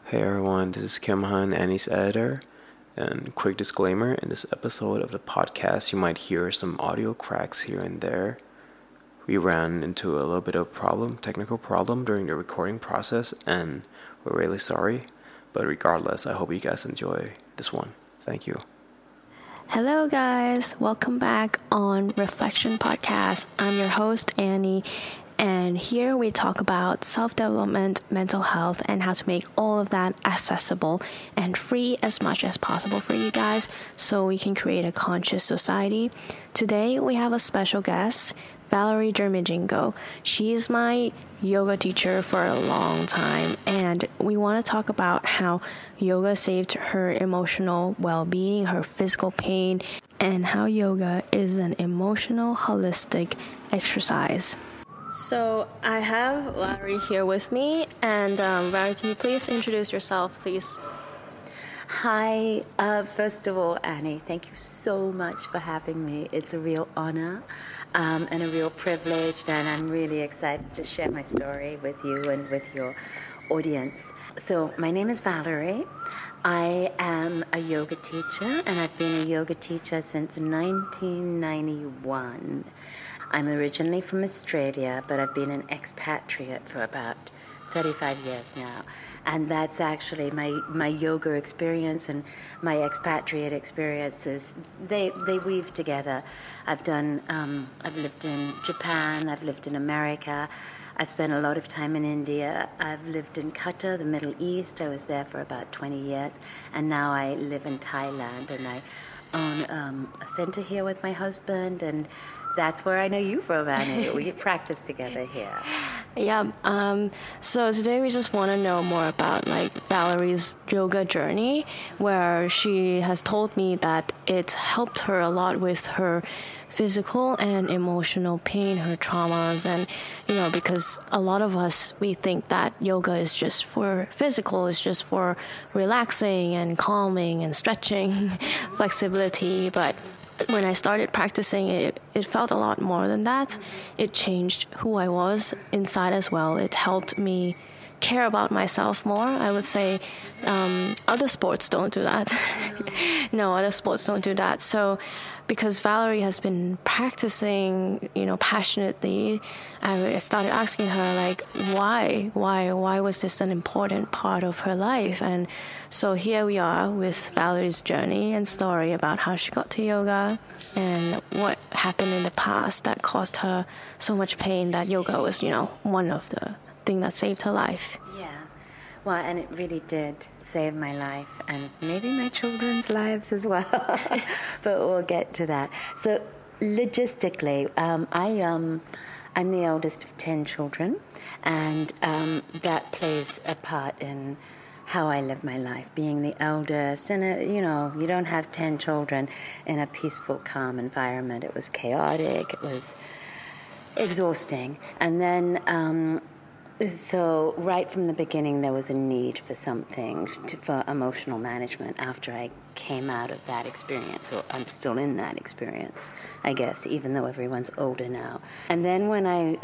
Hey everyone, this is Kim Han, Annie's editor. And quick disclaimer, in this episode of the podcast, you might hear some audio cracks here and there. We ran into a little bit of technical problem during the recording process, and we're really sorry. But regardless, I hope you guys enjoy this one. Thank you. Hello guys, welcome back on Reflection Podcast. I'm your host, Annie. And here we talk about self-development, mental health, and how to make all of that accessible and free as much as possible for you guys so we can create a conscious society. Today we have a special guest, Valerie Jermijingo. She's my yoga teacher for a long time, and we want to talk about how yoga saved her emotional well-being, her physical pain, and how yoga is an emotional, holistic exercise. So I have Valerie here with me, and Valerie, can you please introduce yourself, please? Hi. First of all, Annie, thank you so much for having me. It's a real honor and a real privilege, and I'm really excited to share my story with you and with your audience. So my name is Valerie. I am a yoga teacher, and I've been a yoga teacher since 1991. I'm originally from Australia, but I've been an expatriate for about 35 years now. And that's actually my yoga experience and my expatriate experiences. They weave together. I've lived in Japan, I've lived in America, I've spent a lot of time in India, I've lived in Qatar, the Middle East. I was there for about 20 years, and now I live in Thailand, and I own a center here with my husband, and that's where I know you from, Annie. We practice together here. Yeah. So today we just want to know more about Valerie's yoga journey, where she has told me that it helped her a lot with her physical and emotional pain, her traumas, and because a lot of us, we think that yoga is just for physical, it's just for relaxing and calming and stretching, flexibility, but when I started practicing it, it felt a lot more than that. It changed who I was inside as well. It helped me care about myself more. I would say other sports don't do that. No, other sports don't do that. So because Valerie has been practicing, passionately, I started asking her, why was this an important part of her life? And so here we are with Valerie's journey and story about how she got to yoga and what happened in the past that caused her so much pain that yoga was, one of the things that saved her life. Yeah. Well, and it really did save my life and maybe my children's lives as well. But we'll get to that. So logistically, I'm the eldest of 10 children, and that plays a part in how I live my life, being the eldest. And, you don't have 10 children in a peaceful, calm environment. It was chaotic. It was exhausting. And then so right from the beginning, there was a need for something for emotional management after I came out of that experience, or I'm still in that experience, I guess, even though everyone's older now. And then when I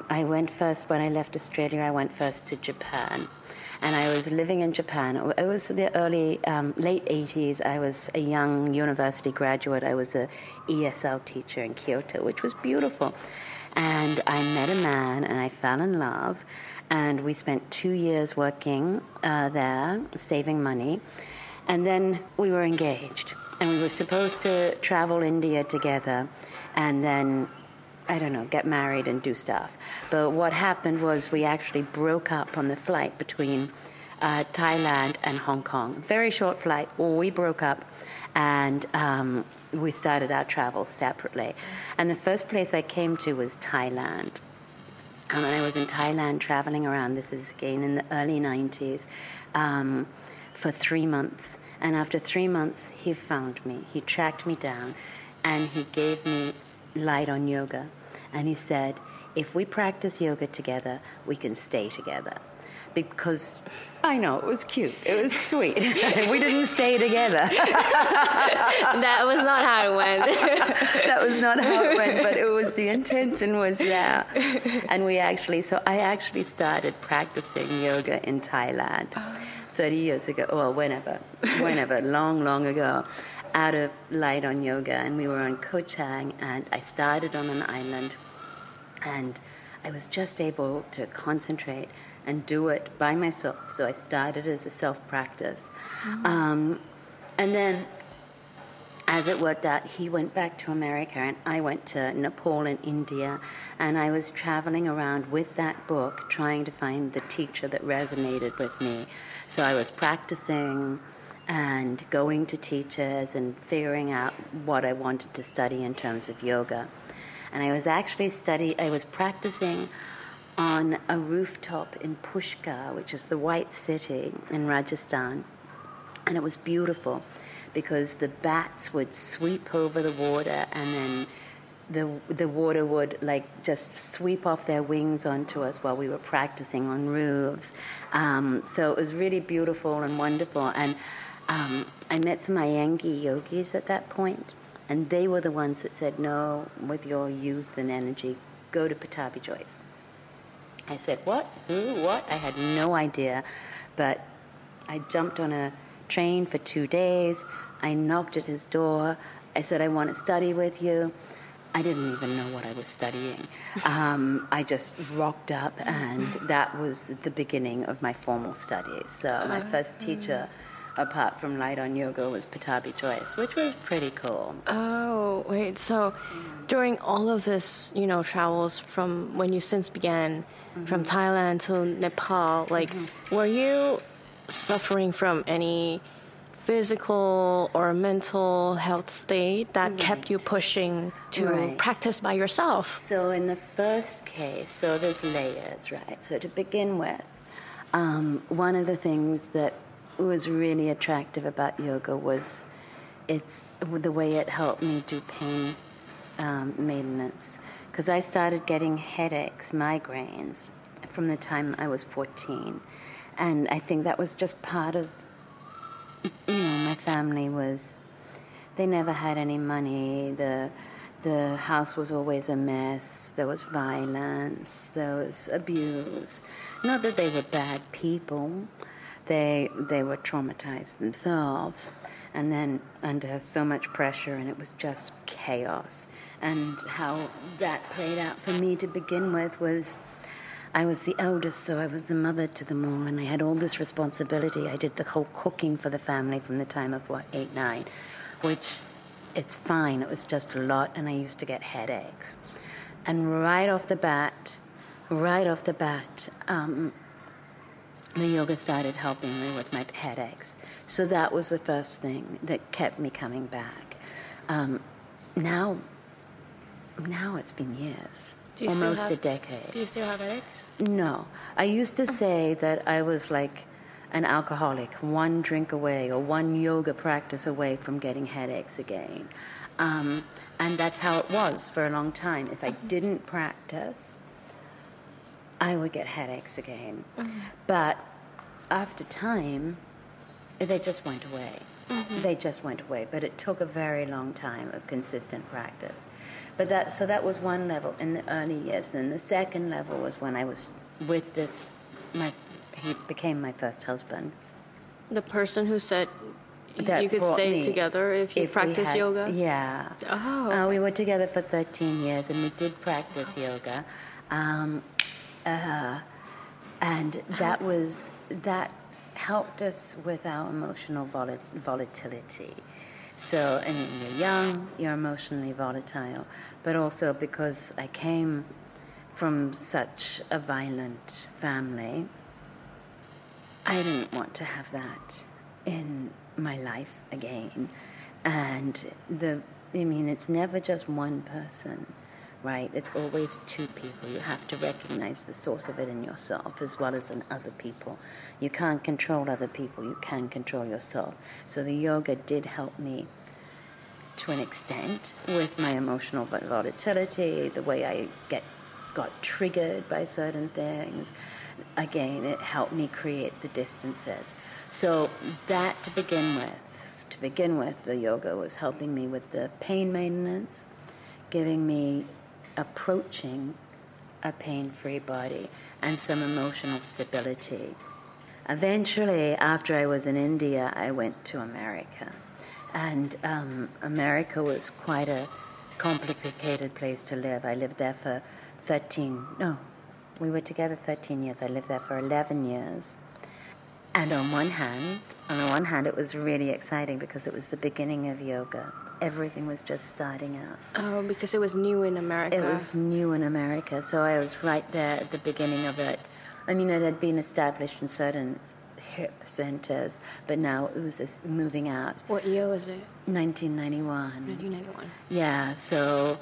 left Australia, I went first to Japan. And I was living in Japan. It was the late 80s. I was a young university graduate. I was a ESL teacher in Kyoto, which was beautiful. And I met a man, and I fell in love, and we spent 2 years working there, saving money, and then we were engaged, and we were supposed to travel India together, and then, get married and do stuff. But what happened was we actually broke up on the flight between Thailand and Hong Kong. Very short flight. We broke up, and we started our travels separately. And the first place I came to was Thailand. And I was in Thailand traveling around, this is again in the early 90s, for 3 months. And after 3 months, he found me. He tracked me down, and he gave me light on yoga. And he said, if we practice yoga together, we can stay together. Because, I know, it was cute. It was sweet. We didn't stay together. That was not how it went. That was not how it went, but the intention was there. And I actually started practicing yoga in Thailand. 30 years ago, or whenever, long ago, out of Light on Yoga, and we were on Koh Chang, and I started on an island, and I was just able to concentrate and do it by myself. So I started as a self-practice. And then, as it worked out, he went back to America, and I went to Nepal and India, and I was traveling around with that book, trying to find the teacher that resonated with me. So I was practicing and going to teachers and figuring out what I wanted to study in terms of yoga. And I was actually practicing on a rooftop in Pushkar, which is the White City in Rajasthan. And it was beautiful because the bats would sweep over the water, and then the water would like just sweep off their wings onto us while we were practicing on roofs. So it was really beautiful and wonderful. And I met some Iyengar yogis at that point, and they were the ones that said, no, with your youth and energy, go to Pattabhi Jois. I said, what? Who? What? I had no idea. But I jumped on a train for 2 days. I knocked at his door. I said, I want to study with you. I didn't even know what I was studying. I just rocked up, and that was the beginning of my formal studies. So my first teacher, apart from Light on Yoga, was Pattabhi Jois, which was pretty cool. Oh, wait. So during all of this, travels from when you since began from Thailand to Nepal, were you suffering from any physical or mental health state that kept you pushing to practice by yourself? So in the first case, so there's layers, right? So to begin with, one of the things that was really attractive about yoga was it's the way it helped me do pain maintenance. Because I started getting headaches, migraines, from the time I was 14. And I think that was just part of, my family they never had any money. The house was always a mess. There was violence. There was abuse. Not that they were bad people. They were traumatized themselves. And then under so much pressure, and it was just chaos. And how that played out for me to begin with was I was the eldest, so I was the mother to them all, and I had all this responsibility. I did the whole cooking for the family from the time of, 8, 9, which it's fine. It was just a lot, and I used to get headaches. And right off the bat, the yoga started helping me with my headaches. So that was the first thing that kept me coming back. Now it's been years, almost a decade. Do you still have headaches? No. I used to say that I was like an alcoholic, one drink away or one yoga practice away from getting headaches again. And that's how it was for a long time. If I didn't practice, I would get headaches again. But after time, they just went away. They just went away. But it took a very long time of consistent practice. But that was one level in the early years. Then the second level was when I was with he became my first husband. The person who said you could stay together if you practice yoga? Yeah. Oh. We were together for 13 years, and we did practice yoga. And that helped us with our emotional volatility. So, and you're young, you're emotionally volatile, but also because I came from such a violent family, I didn't want to have that in my life again. And it's never just one person, right? It's always two people. You have to recognize the source of it in yourself as well as in other people. You can't control other people. You can control yourself. So the yoga did help me to an extent with my emotional volatility, the way I got triggered by certain things. Again, it helped me create the distances. So that to begin with, the yoga was helping me with the pain maintenance, giving me approaching a pain-free body and some emotional stability. eventually, after I was in India, I went to America. And America was quite a complicated place to live. I lived there for we were together 13 years. I lived there for 11 years. And on the one hand, it was really exciting because it was the beginning of yoga. Everything was just starting out. Oh, because it was new in America. It was new in America, so I was right there at the beginning of it. I mean, it had been established in certain hip centers, but now it was just moving out. What year was it? 1991. 1991. Yeah, so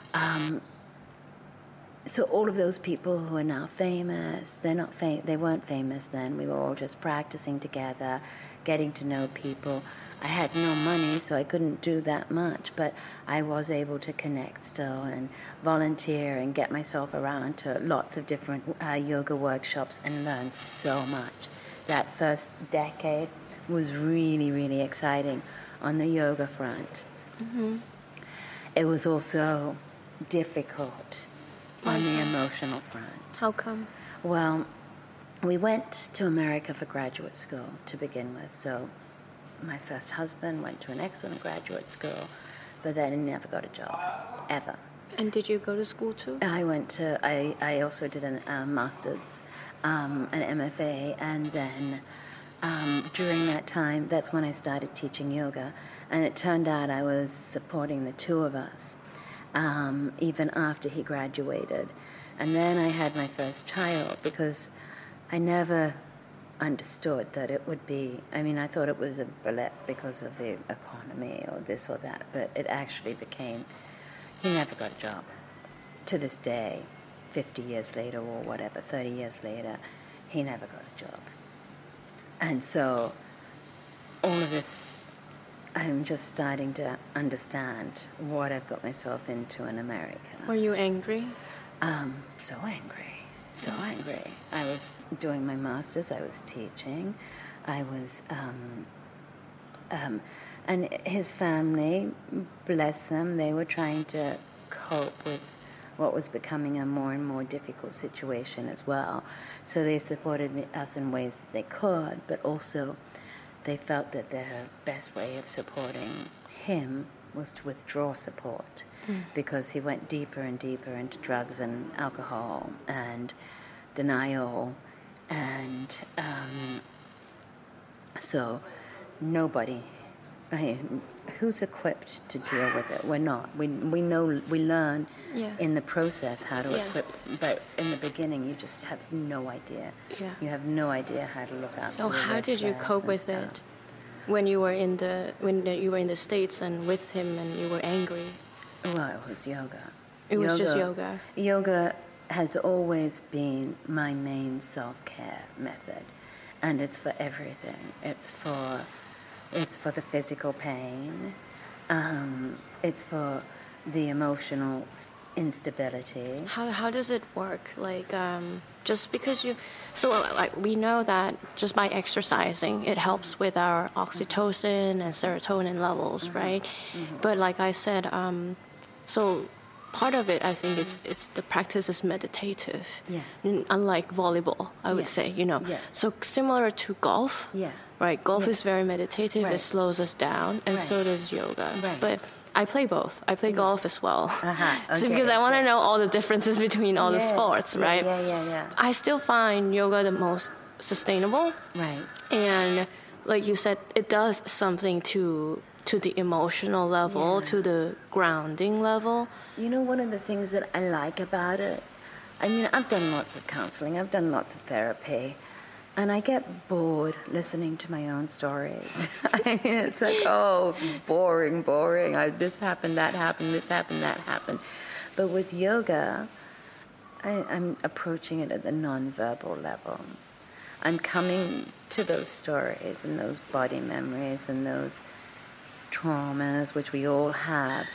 all of those people who are now famous, they weren't famous then. We were all just practicing together, getting to know people. I had no money, so I couldn't do that much, but I was able to connect still and volunteer and get myself around to lots of different yoga workshops and learn so much. That first decade was really, really exciting on the yoga front. Mm-hmm. It was also difficult on the emotional front. How come? Well, we went to America for graduate school to begin with, so my first husband went to an excellent graduate school, but then he never got a job, ever. And did you go to school too? I also did a master's, an MFA, and then during that time, that's when I started teaching yoga, and it turned out I was supporting the two of us, even after he graduated. And then I had my first child because I never understood that it would be, I thought it was a blip because of the economy or this or that, but it actually became, he never got a job. To this day, 50 years later or whatever, 30 years later, he never got a job. And so all of this, I'm just starting to understand what I've got myself into in America. Were you angry? So angry. I was doing my master's, I was teaching, I was, and his family, bless them, they were trying to cope with what was becoming a more and more difficult situation as well. So they supported us in ways that they could, but also they felt that their best way of supporting him was to withdraw support. Because he went deeper and deeper into drugs and alcohol and denial, and so nobody, who's equipped to deal with it? We're not. We know, we learn in the process how to equip, but in the beginning you just have no idea. Yeah. You have no idea how to look out. So how did you cope with it when you were in the States and with him and you were angry? Well, it was yoga. It was just yoga. Yoga has always been my main self-care method, and it's for everything. It's for the physical pain. It's for the emotional instability. How does it work? Like just because we know that just by exercising it helps with our oxytocin and serotonin levels, right? Mm-hmm. But like I said, so part of it, I think, it's the practice is meditative. Yes. Unlike volleyball, I would say, Yes. So similar to golf. Yeah. Right. Golf is very meditative. Right. It slows us down, and so does yoga. Right. But I play both. I play golf as well. Okay. So because I want to know all the differences between all the sports, right? Yeah. I still find yoga the most sustainable. Right. And like you said, it does something to the emotional level, to the grounding level. One of the things that I like about it, I've done lots of counseling, I've done lots of therapy, and I get bored listening to my own stories. It's like, boring. This happened, that happened, this happened, that happened. But with yoga, I'm approaching it at the nonverbal level. I'm coming to those stories and those body memories and those traumas, which we all have,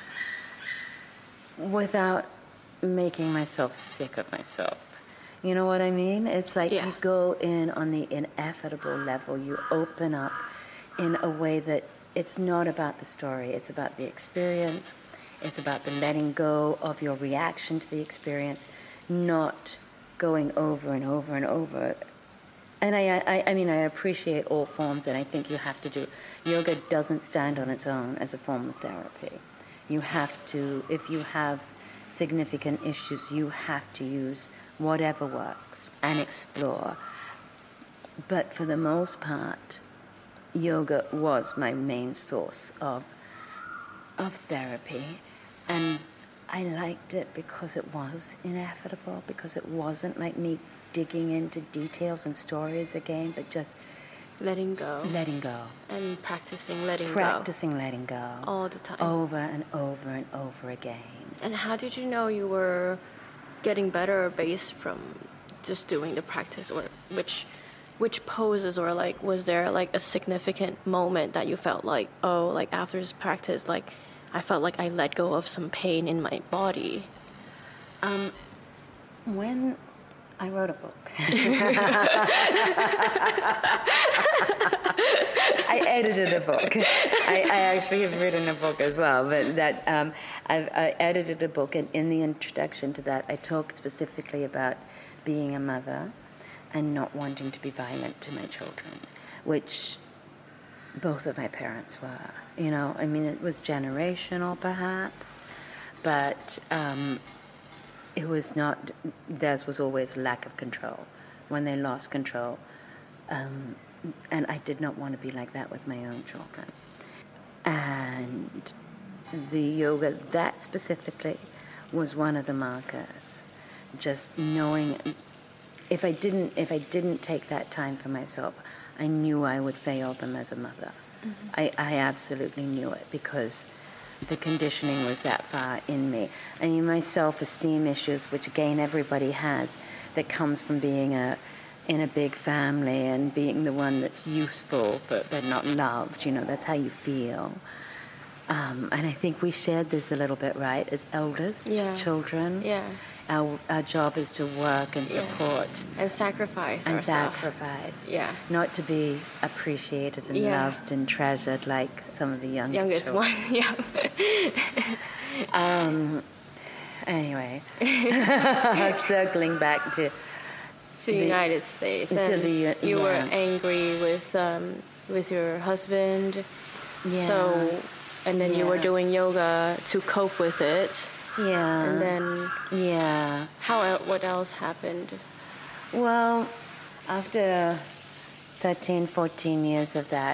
without making myself sick of myself. You know what I mean? It's like you go in on the ineffable level. You open up in a way that it's not about the story. It's about the experience. It's about the letting go of your reaction to the experience, not going over and over and over And I mean, I appreciate all forms, and I think you have to do. Yoga doesn't stand on its own as a form of therapy. You have to, if you have significant issues, you have to use whatever works and explore. But for the most part, yoga was my main source of therapy, and I liked it because it was inevitable, because it wasn't like me digging into details and stories again, but just letting go. And practicing letting go. All the time. Over and over and over again. And how did you know you were getting better based from just doing the practice, or which poses, or like was there like a significant moment that you felt like, oh, like after this practice, like I felt like I let go of some pain in my body? When I wrote a book. I edited a book. I actually have written a book as well, but that I edited a book, and in the introduction to that, I talk specifically about being a mother and not wanting to be violent to my children, which both of my parents were. You know, I mean, it was generational perhaps, but it was not. Theirs was always lack of control. When they lost control, and I did not want to be like that with my own children. And the yoga, that specifically, was one of the markers. Just knowing, if I didn't take that time for myself, I knew I would fail them as a mother. Mm-hmm. I absolutely knew it, because the conditioning was that far in me. I mean, my self-esteem issues, which again everybody has, that comes from being in a big family and being the one that's useful but not loved. You know, that's how you feel. And I think we shared this a little bit, right? As eldest children, our job is to work and support and sacrifice ourselves. Not to be appreciated and loved and treasured like some of the youngest one. Anyway, circling back to the United States, and you were angry with your husband, so. And then you were doing yoga to cope with it. Yeah. And then... Yeah. What else happened? Well, after 13, 14 years of that,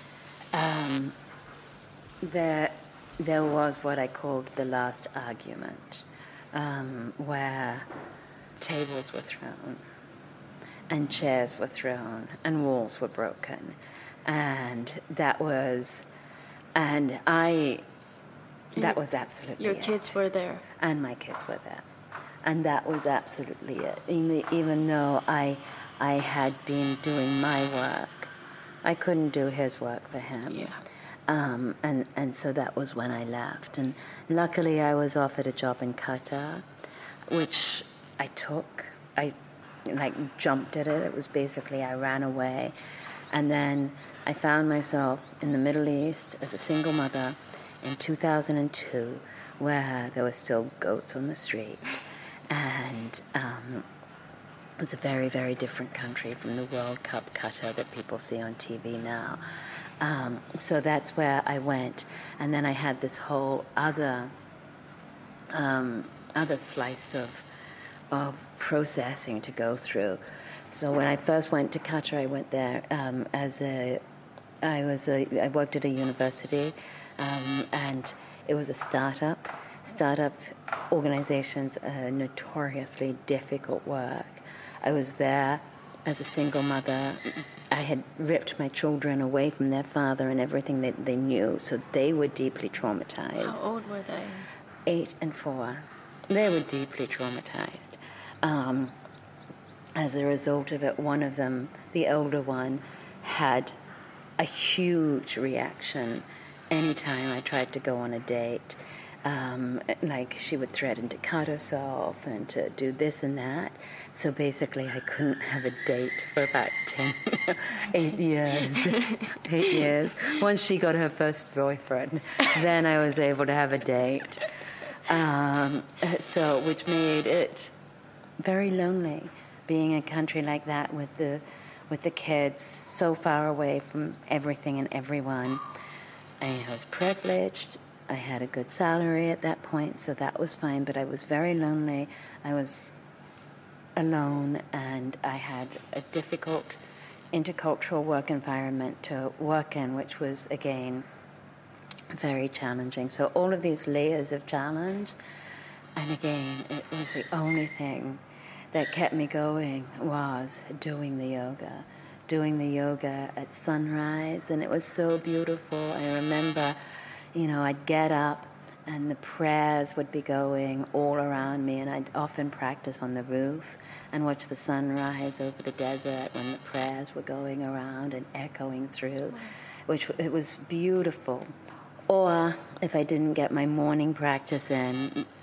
there was what I called the last argument, where tables were thrown, and chairs were thrown, and walls were broken. And that was... And that was absolutely Your kids were there. And my kids were there. And that was absolutely it. Even though I had been doing my work, I couldn't do his work for him. Yeah. And so that was when I left. And luckily I was offered a job in Qatar, which I took. I jumped at it. It was basically I ran away. And then I found myself in the Middle East as a single mother in 2002, where there were still goats on the street. And it was a very, very different country from the World Cup Qatar that people see on TV now. So that's where I went. And then I had this whole other slice of processing to go through. So when I first went to Qatar, I went there I worked at a university, and it was a startup. Startup organizations are notoriously difficult work. I was there as a single mother. I had ripped my children away from their father and everything that they knew, so they were deeply traumatized. How old were they? 8 and 4. They were deeply traumatized. As a result of it, one of them, the older one, had a huge reaction anytime I tried to go on a date. Like she would threaten to cut herself and to do this and that. So basically I couldn't have a date for about 8 years. 8 years. Once she got her first boyfriend, then I was able to have a date. So which made it very lonely, being in a country like that with with the kids, so far away from everything and everyone. I was privileged. I had a good salary at that point, so that was fine, but I was very lonely. I was alone, and I had a difficult intercultural work environment to work in, which was, again, very challenging. So all of these layers of challenge, and again, it was the only thing that kept me going was doing the yoga at sunrise, and it was so beautiful. I remember, I'd get up and the prayers would be going all around me, and I'd often practice on the roof and watch the sunrise over the desert when the prayers were going around and echoing through, which it was beautiful. Or if I didn't get my morning practice in,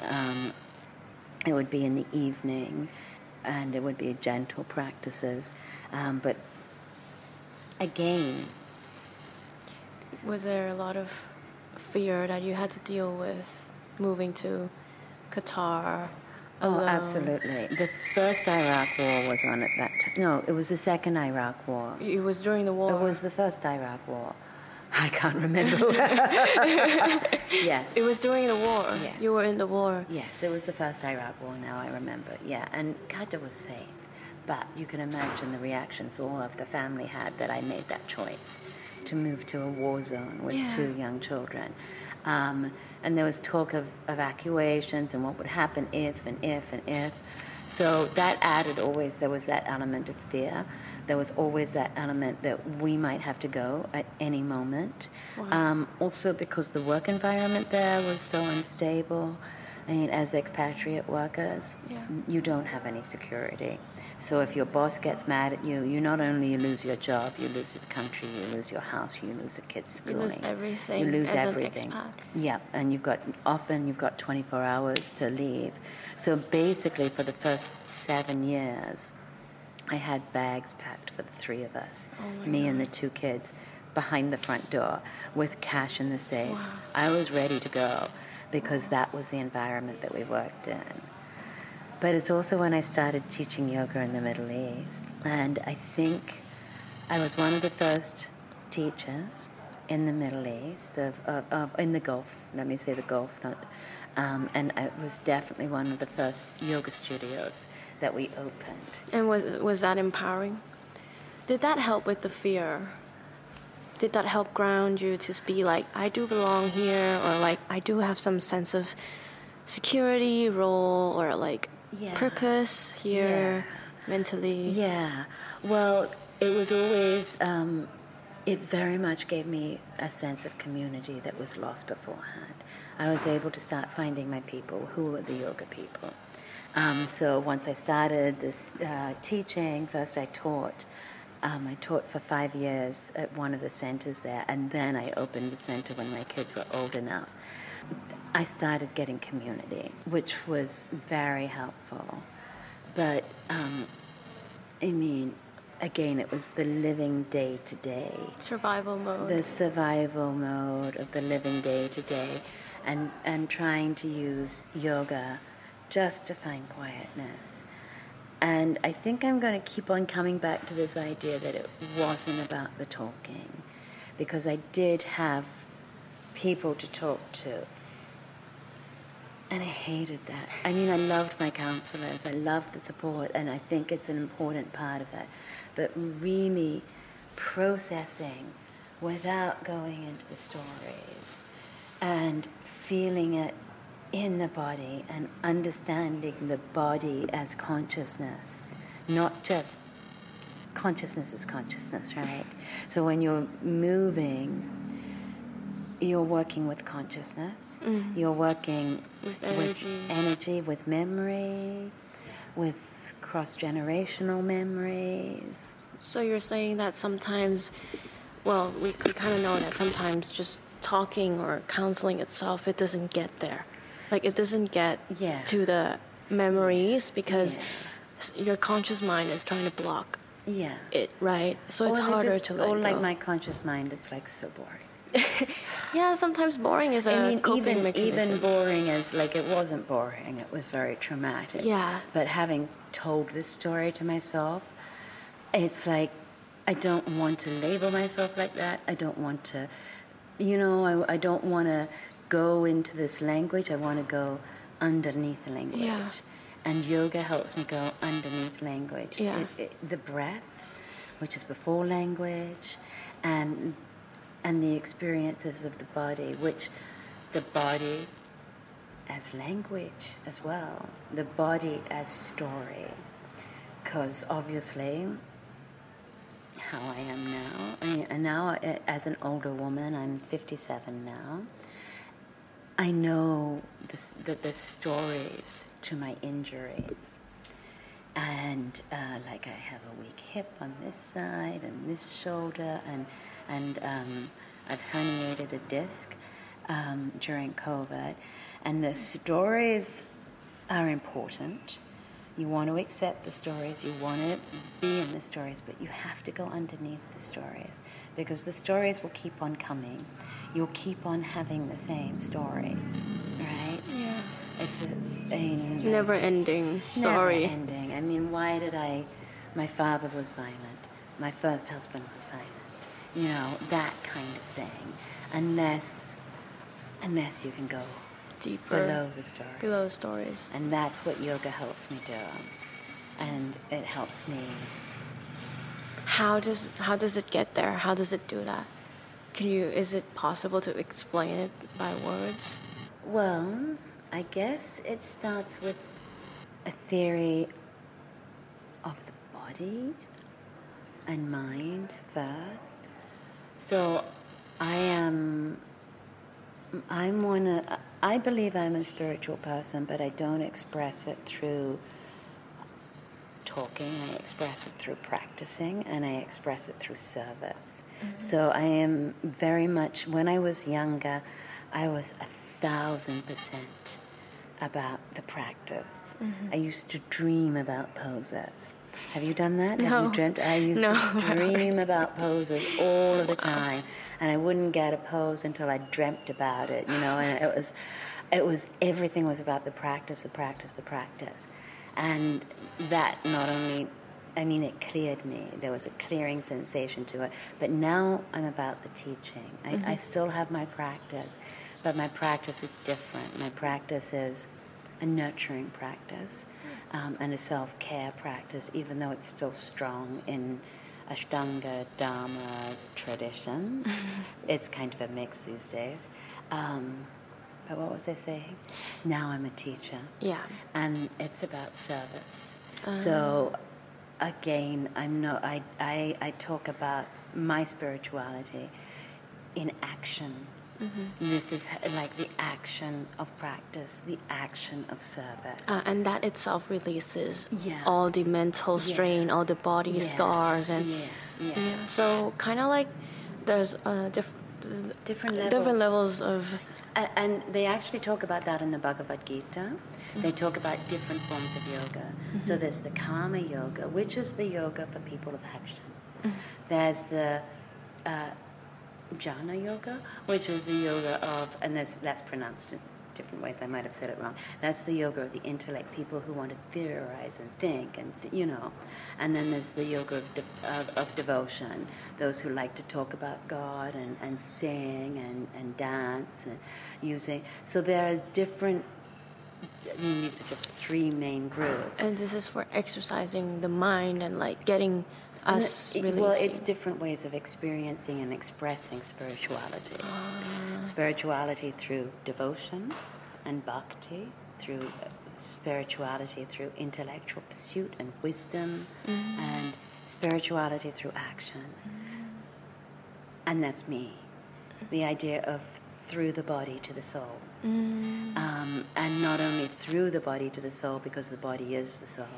it would be in the evening, and it would be gentle practices. But again, was there a lot of fear that you had to deal with moving to Qatar alone? Oh, absolutely. The first Iraq War was on at that time. No, it was the second Iraq War. It was during the war. It was the first Iraq War. I can't remember. Yes. It was during the war. Yes. You were in the war. Yes, it was the first Iraq War, now I remember. Yeah, and Qatar was safe. But you can imagine the reactions all of the family had that I made that choice to move to a war zone with 2 young children. And there was talk of evacuations and what would happen if. So that added always, there was that element of fear. There was always that element that we might have to go at any moment. Wow. Also because the work environment there was so unstable. I mean, as expatriate workers, you don't have any security. So if your boss gets mad at you, you not only lose your job, you lose the country, you lose your house, you lose the kids' schooling. You lose everything. You lose as everything. An expat. Yeah, and you've got 24 hours to leave. So basically, for the first 7 years, I had bags packed for the 3 of us, me and the 2 kids, behind the front door with cash in the safe. Wow. I was ready to go because that was the environment that we worked in. But it's also when I started teaching yoga in the Middle East. And I think I was one of the first teachers in the Middle East, in the Gulf, let me say the Gulf, and I was definitely one of the first yoga studios that we opened. And was that empowering? Did that help with the fear? Did that help ground you to be like, I do belong here, or like, I do have some sense of security, role, or like purpose here mentally? Yeah. Well, it was always, it very much gave me a sense of community that was lost beforehand. I was able to start finding my people, who were the yoga people. So once I started this teaching, first I taught for 5 years at one of the centers there, and then I opened the center when my kids were old enough. I started getting community, which was very helpful. But, again, it was the living day-to-day. Survival mode. The survival mode of the living day-to-day, and trying to use yoga just to find quietness. And I think I'm going to keep on coming back to this idea that it wasn't about the talking, because I did have people to talk to. And I hated that. I mean, I loved my counselors. I loved the support, and I think it's an important part of it. But really processing without going into the stories and feeling it in the body and understanding the body as consciousness, not just consciousness is consciousness, right? So when you're moving, you're working with consciousness, you're working with energy, with memory, with cross-generational memories. So you're saying that sometimes, well, we kind of know that sometimes just talking or counseling itself, it doesn't get there. Like, it doesn't get to the memories because your conscious mind is trying to block it, right? So it's harder to let go. Or like my conscious mind, it's like so boring. Yeah, sometimes boring is a coping mechanism. Even boring is, like, it wasn't boring. It was very traumatic. Yeah. But having told this story to myself, it's like I don't want to label myself like that. I don't want to, I don't want to go into this language. I want to go underneath the language. Yeah. And yoga helps me go underneath language. Yeah. The breath, which is before language, and the experiences of the body, which the body as language as well, the body as story. Because obviously, how I am now, and now as an older woman, I'm 57 now, I know the stories to my injuries. And like I have a weak hip on this side and this shoulder, and I've herniated a disc during COVID. And the stories are important. You want to accept the stories, you want to be in the stories, but you have to go underneath the stories, because the stories will keep on coming. You'll keep on having the same stories, right? Yeah. It's never-ending story. Never-ending. I mean, my father was violent. My first husband was violent. That kind of thing. Unless you can go Deeper. Below the story. Stories. And that's what yoga helps me do. And it helps me. How does it get there? How does it do that? Is it possible to explain it by words? Well, I guess it starts with a theory of the body and mind first. So I believe I'm a spiritual person, but I don't express it through talking. I express it through practicing, and I express it through service. Mm-hmm. So I am very much, when I was younger, I was 1,000% about the practice. Mm-hmm. I used to dream about poses. Have you done that? No. Have you dreamt? I used to dream about poses all of the time, and I wouldn't get a pose until I dreamt about it, and it was everything was about the practice. And that not only, it cleared me. There was a clearing sensation to it. But now I'm about the teaching. I still have my practice, but my practice is different. My practice is a nurturing practice and a self-care practice, even though it's still strong in Ashtanga Dharma tradition. It's kind of a mix these days. But what was I saying? Now I'm a teacher. Yeah. And it's about service. So again, I talk about my spirituality in action. Mm-hmm. This is like the action of practice, the action of service. And that itself releases all the mental strain, all the body scars. And so kind of like there's different levels of... And they actually talk about that in the Bhagavad Gita. Mm-hmm. They talk about different forms of yoga. Mm-hmm. So there's the Karma Yoga, which is the yoga for people of action. Mm-hmm. There's the Jnana Yoga, which is the yoga of, and that's pronounced in different ways. I might have said it wrong. That's the yoga of the intellect, people who want to theorize and think, and And then there's the yoga of devotion, those who like to talk about God and sing and dance and using. So there are different. These are just three main groups. And this is for exercising the mind and like getting us releasing. Well, it's different ways of experiencing and expressing spirituality. Spirituality through devotion and bhakti, through spirituality through intellectual pursuit and wisdom, and spirituality through action. And that's me. The idea of through the body to the soul. And not only through the body to the soul, because the body is the soul.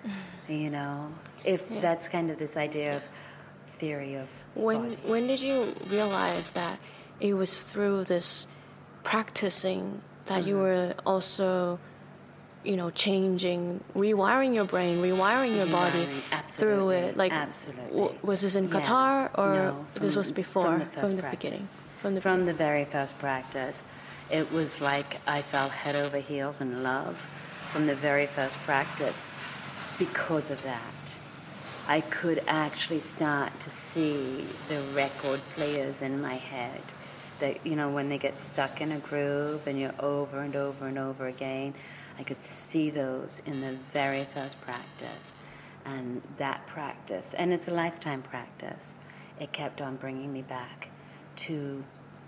That's kind of this idea of theory of body. When did you realize that it was through this practicing that you were also, changing, rewiring your brain, rewiring your body through it? Like, absolutely. Was this in Qatar or no, this was before, from the beginning? From the very first practice. It was like I fell head over heels in love from the very first practice because of that. I could actually start to see the record players in my head. That, you know, when they get stuck in a groove and you're over and over and over again, I could see those in the very first practice. And that practice, and it's a lifetime practice, it kept on bringing me back to,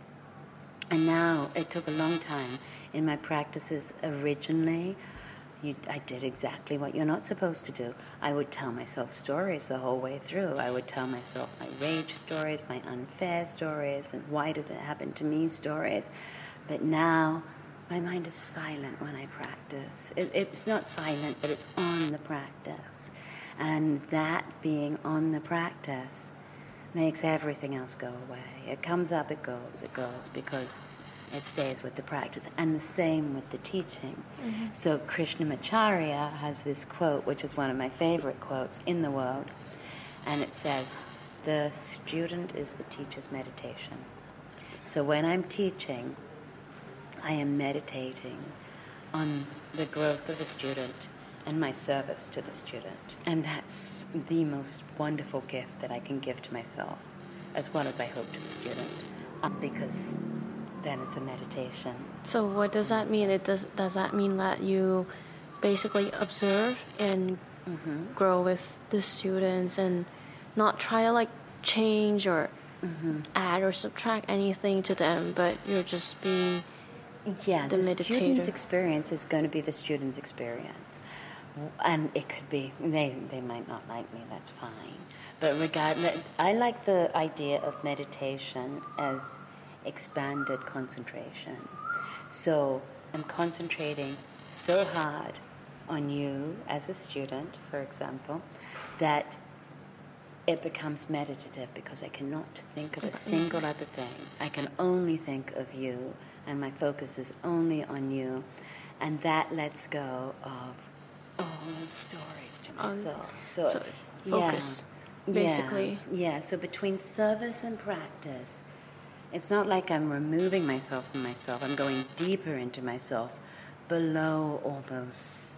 and now it took a long time in my practices originally. I did exactly what you're not supposed to do. I would tell myself stories the whole way through. I would tell myself my rage stories, my unfair stories, and why did it happen to me stories. But now my mind is silent when I practice. It's not silent, but it's on the practice. And that being on the practice makes everything else go away. It comes up, it goes, because it stays with the practice. And the same with the teaching. Mm-hmm. So Krishnamacharya has this quote, which is one of my favorite quotes in the world. And it says, the student is the teacher's meditation. So when I'm teaching, I am meditating on the growth of the student and my service to the student. And that's the most wonderful gift that I can give to myself, as well as I hope to the student, because then it's a meditation. So what does that mean? Does that mean that you basically observe and grow with the students and not try to like change or add or subtract anything to them, but you're just being the meditator? Student's experience is going to be the student's experience. And it could be, they might not like me, that's fine. But regardless, I like the idea of meditation as expanded concentration. So I'm concentrating so hard on you as a student, for example, that it becomes meditative because I cannot think of a single other thing. I can only think of you, and my focus is only on you, and that lets go of all those stories to myself. So focus, basically. Yeah, so between service and practice, it's not like I'm removing myself from myself. I'm going deeper into myself, below all those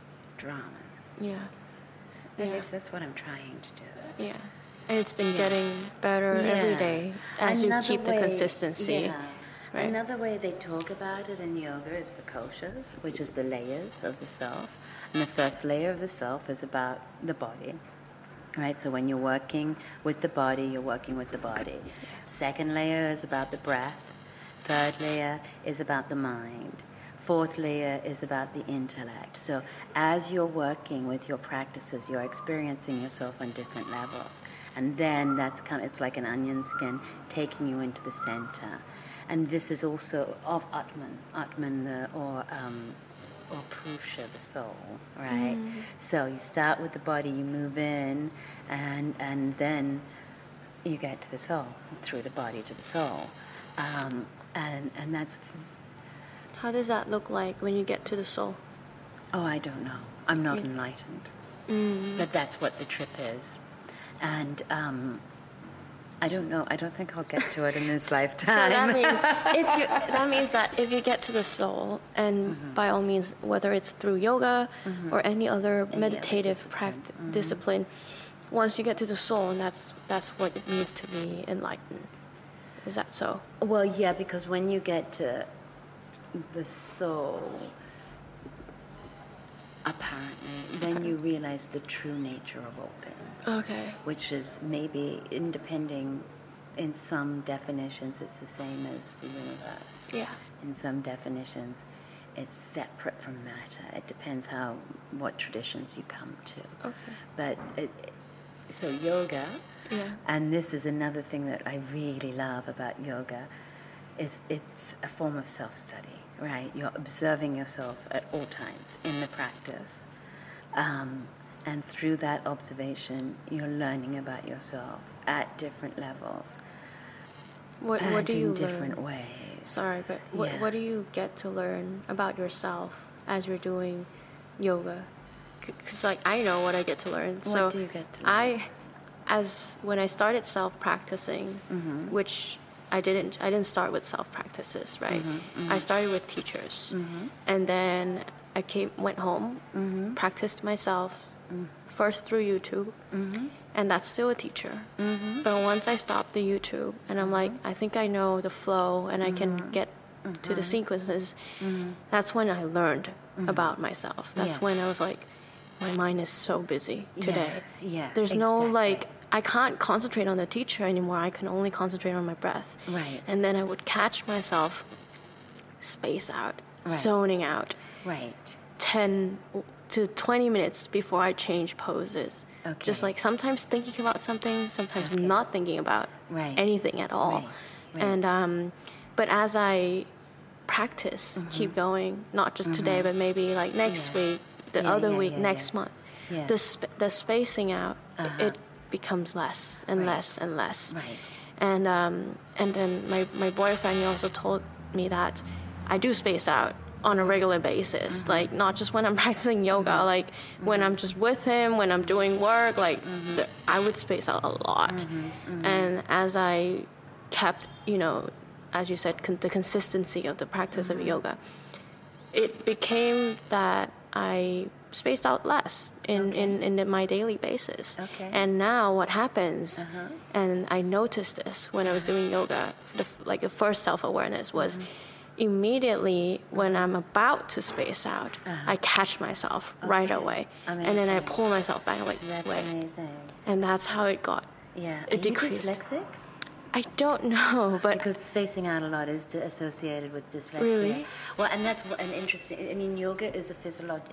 dramas. Yeah. At least that's what I'm trying to do. Yeah. And it's been getting better every day as you keep the consistency. Yeah. Right. Another way they talk about it in yoga is the koshas, which is the layers of the self. And the first layer of the self is about the body. Right, so when you're working with the body, you're working with the body. Second layer is about the breath. Third layer is about the mind. Fourth layer is about the intellect. So as you're working with your practices, you're experiencing yourself on different levels. And then it's like an onion skin taking you into the center. And this is also of Atman, or Purusha, the soul, right? Mm. So you start with the body, you move in, and then you get to the soul, through the body to the soul. And that's... How does that look like when you get to the soul? Oh, I don't know. I'm not enlightened. Mm. But that's what the trip is. And I don't know. I don't think I'll get to it in this lifetime. So that means that if you get to the soul, and by all means, whether it's through yoga or any other meditative discipline, once you get to the soul, and that's what it means to be enlightened. Is that so? Well, yeah, because when you get to the soul, apparently, then you realize the true nature of all things. Okay. Which is maybe in some definitions, it's the same as the universe. Yeah. In some definitions, it's separate from matter. It depends what traditions you come to. Okay. But so yoga, and this is another thing that I really love about yoga, is it's a form of self-study, right? You're observing yourself at all times in the practice. And through that observation, you're learning about yourself at different levels. What do you learn? In different ways. Sorry, but what do you get to learn about yourself as you're doing yoga? Because I know what I get to learn. What do you get to learn? When I started self-practicing, which I didn't start with self-practices, right? I started with teachers. And then I went home, practiced myself first through YouTube, and that's still a teacher. But once I stopped the YouTube, and I'm like, I think I know the flow, and I can get to the sequences, that's when I learned about myself. That's when I was like, my mind is so busy today. There's no like, I can't concentrate on the teacher anymore. I can only concentrate on my breath. Right. And then I would catch myself space out, zoning out. Right. 10 to 20 minutes before I change poses. Okay. Just like sometimes thinking about something, sometimes not thinking about anything at all. And but as I practice, keep going, not just today, but maybe like next week, the other week, next month, the spacing out, it becomes less and less and less. Right. And then my boyfriend, he also told me that I do space out on a regular basis, like not just when I'm practicing yoga, like when I'm just with him, when I'm doing work, like I would space out a lot. And as I kept, you know, as you said, the consistency of the practice of yoga, it became that I spaced out less in my daily basis. And now what happens, and I noticed this when I was doing yoga, the first self-awareness was immediately when I'm about to space out, I catch myself right away. Amazing. And then I pull myself back away. That's amazing. And that's how it got. It decreased. Are you dyslexic? I don't know, but because spacing out a lot is associated with dyslexia. Really? Well, and that's an interesting. I mean, yoga is a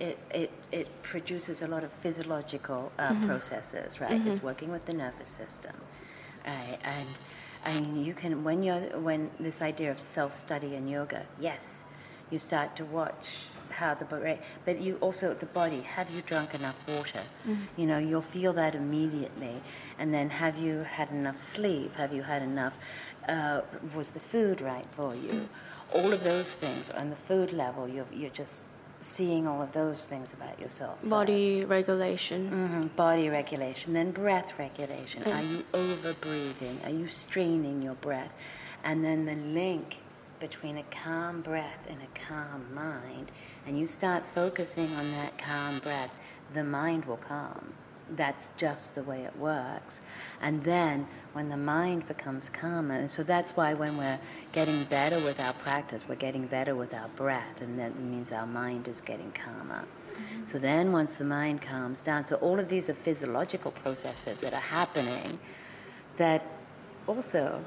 it produces a lot of physiological processes, right? It's working with the nervous system, right? And I mean, you can when this idea of self-study in yoga, yes, you start to watch how the body, but you also the body. Have you drunk enough water? You know, you'll feel that immediately. And then, have you had enough sleep? Have you had enough? Was the food right for you? All of those things on the food level, you're just seeing all of those things about yourself. Body regulation. Body regulation, then breath regulation. Are you over breathing? Are you straining your breath? And then the link between a calm breath and a calm mind, and you start focusing on that calm breath, the mind will calm. That's just the way it works. And then when the mind becomes calmer, and so that's why when we're getting better with our practice, we're getting better with our breath, and that means our mind is getting calmer. So then once the mind calms down, so all of these are physiological processes that are happening that also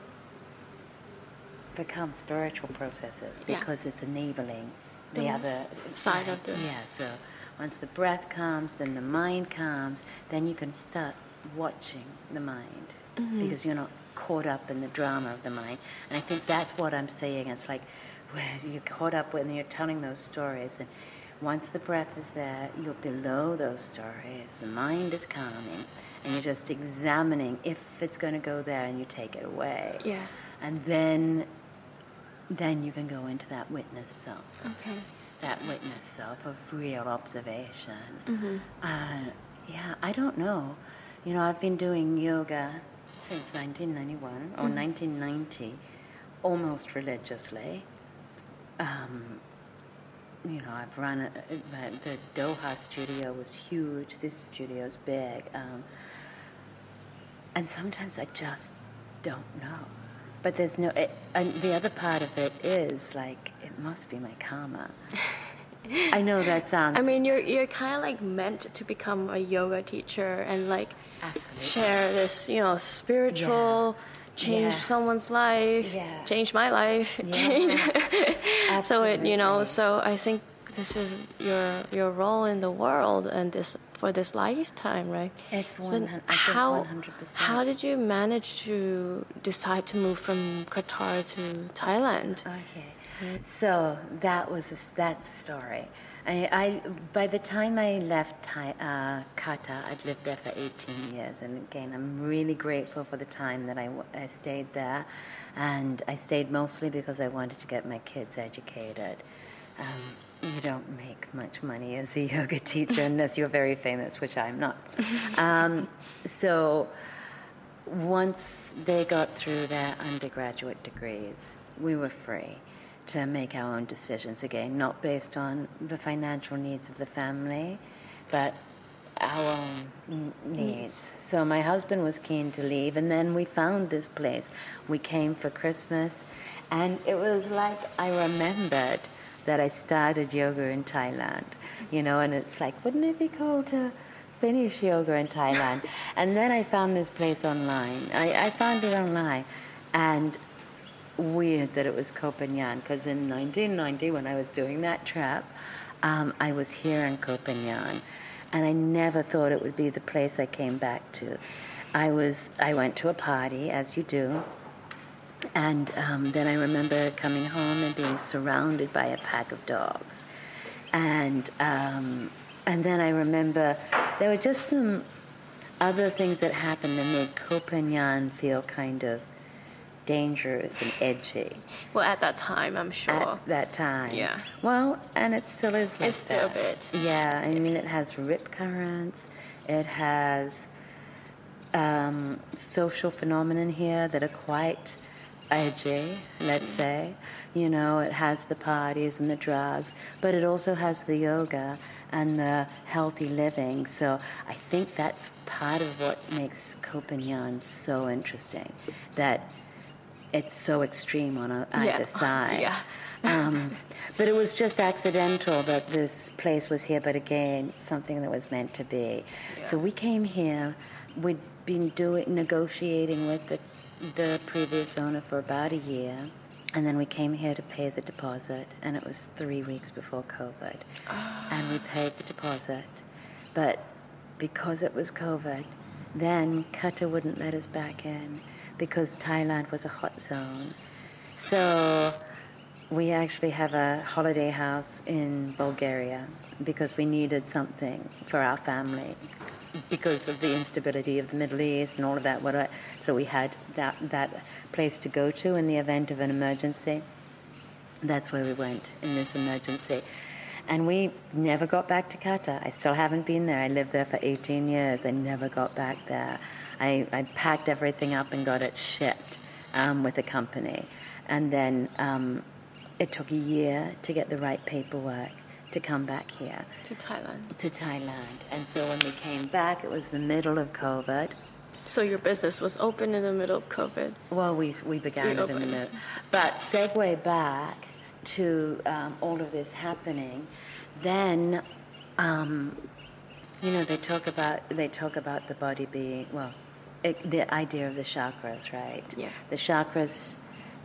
become spiritual processes because it's enabling the other side of the... Yeah, so once the breath calms, then the mind calms, then you can start watching the mind because you're not caught up in the drama of the mind. And I think that's what I'm saying. It's like where you're caught up when you're telling those stories, and once the breath is there, you're below those stories. The mind is calming, and you're just examining if it's going to go there, and you take it away. Yeah. And then you can go into that witness self. Okay. That witness self of real observation. I don't know. You know, I've been doing yoga since 1991 or 1990, almost religiously. You know, I've run the Doha studio was huge. This studio's big, and sometimes I just don't know. But there's no. And the other part of it is like it must be my karma. I know that sounds. I mean, you're kind of like meant to become a yoga teacher and like share this, you know, spiritual. Change someone's life, change my life, change. So it, you know, so I think this is your role in the world and this for this lifetime, right? It's 100%. How did you manage to decide to move from Qatar to Thailand? Okay, so that's the story. I by the time I left Qatar, I'd lived there for 18 years, and again, I'm really grateful for the time that I stayed there, and I stayed mostly because I wanted to get my kids educated. You don't make much money as a yoga teacher unless you're very famous, which I'm not. So once they got through their undergraduate degrees, we were free to make our own decisions again, not based on the financial needs of the family, but our own needs. So my husband was keen to leave, and then we found this place. We came for Christmas, and it was like I remembered that I started yoga in Thailand, and it's like, wouldn't it be cool to finish yoga in Thailand? And then I found this place online. I found it online, and weird that it was Koh Phangan, because in 1990, when I was doing that trip, I was here in Koh Phangan, and I never thought it would be the place I came back to. I went to a party, as you do, and then I remember coming home and being surrounded by a pack of dogs, and then I remember there were just some other things that happened that made Koh Phangan feel kind of dangerous and edgy. Well, at that time, I'm sure. At that time. Yeah. Well, and it still is like it's still a bit. Yeah, I mean, it has rip currents. It has social phenomenon here that are quite edgy, let's say. It has the parties and the drugs, but it also has the yoga and the healthy living. So I think that's part of what makes Koh Phangan so interesting, that it's so extreme on either side. Yeah. But it was just accidental that this place was here, but again, something that was meant to be. Yeah. So we came here. We'd been negotiating with the previous owner for about a year, and then we came here to pay the deposit, and it was 3 weeks before COVID. And we paid the deposit, but because it was COVID, then Qatar wouldn't let us back in, because Thailand was a hot zone. So we actually have a holiday house in Bulgaria because we needed something for our family because of the instability of the Middle East and all of that. So we had that place to go to in the event of an emergency. That's where we went in this emergency. And we never got back to Qatar. I still haven't been there. I lived there for 18 years. I never got back there. I packed everything up and got it shipped with a company. And then it took a year to get the right paperwork to come back here. To Thailand. And so when we came back, it was the middle of COVID. So your business was open in the middle of COVID? Well, we began it in the middle. But segue back to all of this happening, then they talk about the body being the idea of the chakras, right? Yeah. The chakras,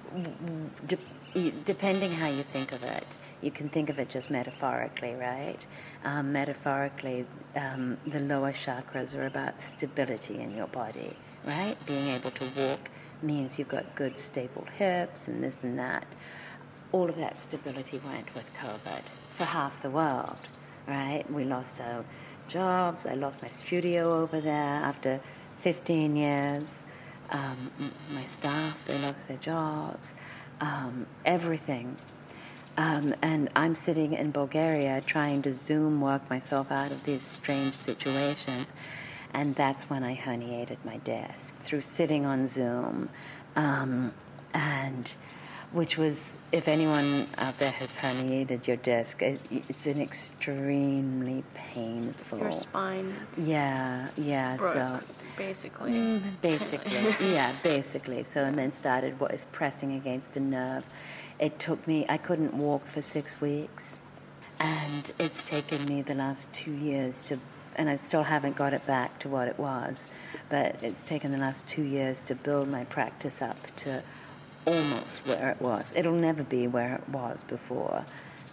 depending how you think of it, you can think of it just metaphorically, right? Metaphorically, the lower chakras are about stability in your body, right? Being able to walk means you've got good, stable hips and this and that. All of that stability went with COVID for half the world, right? We lost our jobs. I lost my studio over there after 15 years. My staff, they lost their jobs. Everything. And I'm sitting in Bulgaria trying to Zoom work myself out of these strange situations. And that's when I herniated my disc through sitting on Zoom. And which was, if anyone out there has herniated your disc, it's an extremely painful... Your spine. Yeah, broke, so... Basically. Basically. So, and then started pressing against a nerve. It took me, I couldn't walk for 6 weeks. And it's taken me the last 2 years and I still haven't got it back to what it was, but it's taken the last 2 years to build my practice up to almost where it was. It'll never be where it was before.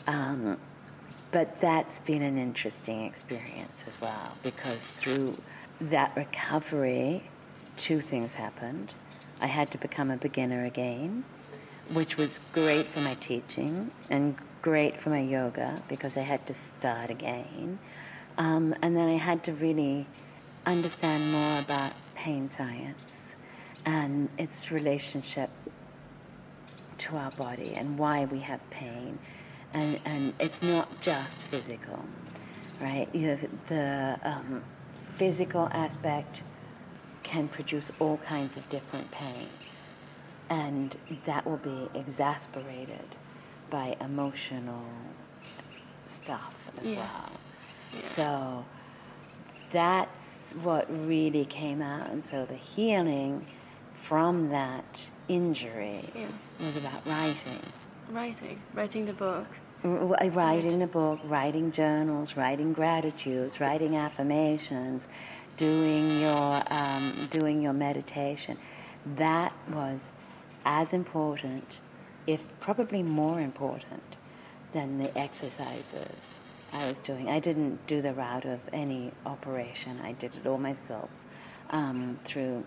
But that's been an interesting experience as well, because through that recovery, 2 things happened. I had to become a beginner again, which was great for my teaching and great for my yoga because I had to start again. And then I had to really understand more about pain science and its relationship to our body and why we have pain. And it's not just physical, right? The physical aspect can produce all kinds of different pains. And that will be exasperated by emotional stuff as well. Yeah. So that's what really came out. And so the healing from that injury was about writing. Writing the book. Writing the book, writing journals, writing gratitudes, writing affirmations, doing your meditation. That was as important, if probably more important, than the exercises I was doing. I didn't do the route of any operation. I did it all myself through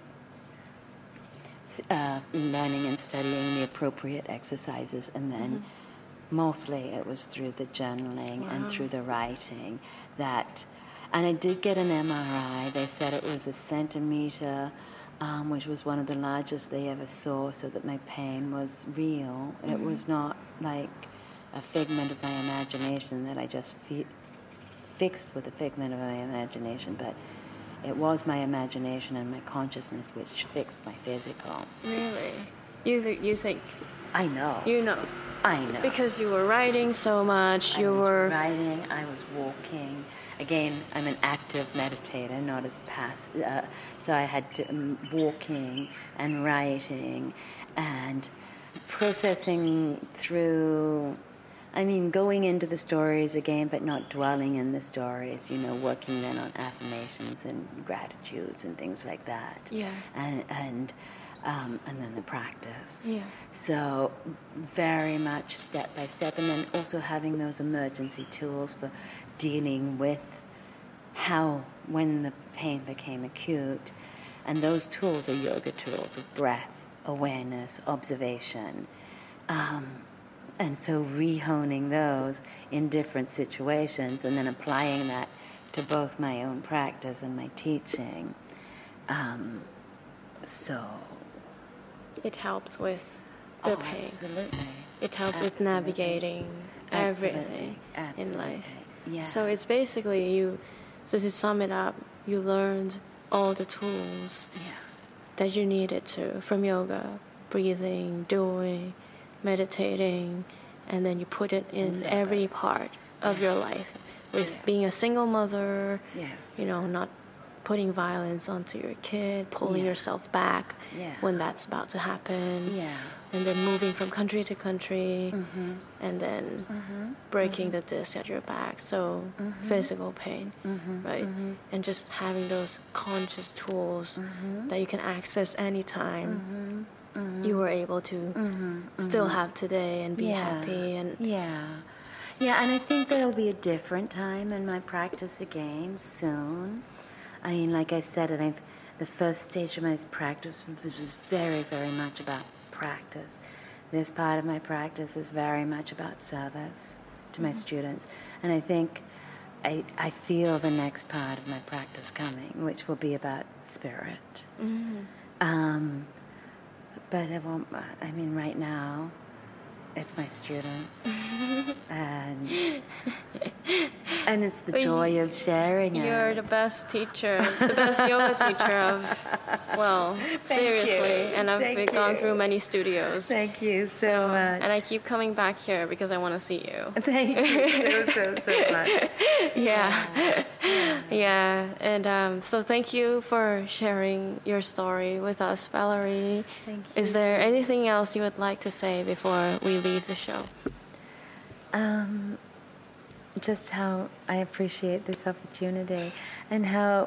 learning and studying the appropriate exercises, and then mostly it was through the journaling and through the writing and I did get an MRI. They said it was a centimeter, which was one of the largest they ever saw, so that my pain was real. It was not like a figment of my imagination that I just fixed with a figment of my imagination, but it was my imagination and my consciousness which fixed my physical. Really? You think? I know. You know. I know. Because you were writing so much. I was writing, I was walking. Again, I'm an active meditator, not as passive. So I had to walking and writing and processing through. I mean, going into the stories again, but not dwelling in the stories. Working then on affirmations and gratitudes and things like that. Yeah. And then the practice. Yeah. So very much step by step, and then also having those emergency tools for dealing with when the pain became acute. And those tools are yoga tools of breath, awareness, observation. And so rehoning those in different situations and then applying that to both my own practice and my teaching. So it helps with the pain. Absolutely. It helps with navigating everything in life. Yeah. So it's basically so to sum it up, you learned all the tools that you needed from yoga, breathing, doing, meditating, and then you put it in every part of your life. With being a single mother, not putting violence onto your kid, pulling yourself back when that's about to happen, and then moving from country to country, and then breaking the disc at your back, so physical pain, right? And just having those conscious tools that you can access anytime. You were able to still have today and be happy. And and I think there'll be a different time in my practice again soon. I mean, like I said, the first stage of my practice was very, very much about practice. This part of my practice is very much about service to my students. And I think I feel the next part of my practice coming, which will be about spirit. But right now, it's my students. And it's the joy of sharing it. You're the best teacher, the best yoga teacher seriously. And I've gone through many studios. Thank you so much. And I keep coming back here because I want to see you. Thank you so much. Yeah. And so thank you for sharing your story with us, Valerie. Thank you. Is there anything else you would like to say before we leave the show? Just how I appreciate this opportunity, and how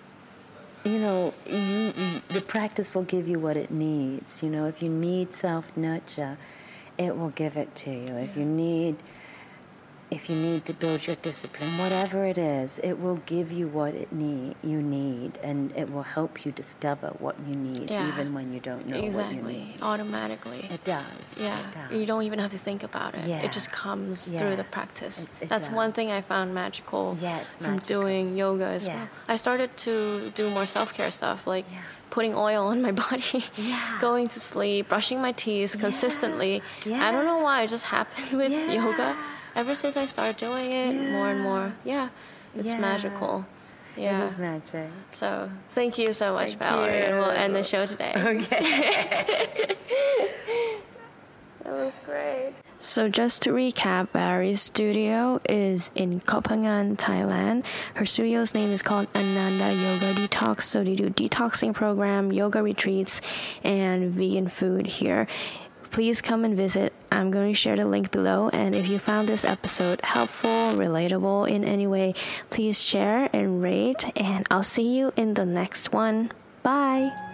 the practice will give you what it needs. If you need self-nurture, it will give it to you. If you need to build your discipline, whatever it is, it will give you what you need, and it will help you discover what you need, even when you don't know what you need. Automatically. It does. Yeah. It does. You don't even have to think about it. Yeah. It just comes through the practice. That's does. one thing I found magical it's from magical. doing yoga as well. I started to do more self-care stuff, like putting oil on my body, going to sleep, brushing my teeth consistently. I don't know why, it just happened with yoga. Ever since I started doing it, more and more, it's magical. It is magic. So, thank you so much, Valerie, and we'll end the show today. Okay. That was was great. So just to recap, Barry's studio is in Koh Phangan, Thailand. Her studio's name is called Ananda Yoga Detox. So they do detoxing program, yoga retreats, and vegan food here. Please come and visit. I'm going to share the link below. And if you found this episode helpful, relatable in any way, please share and rate. And I'll see you in the next one. Bye.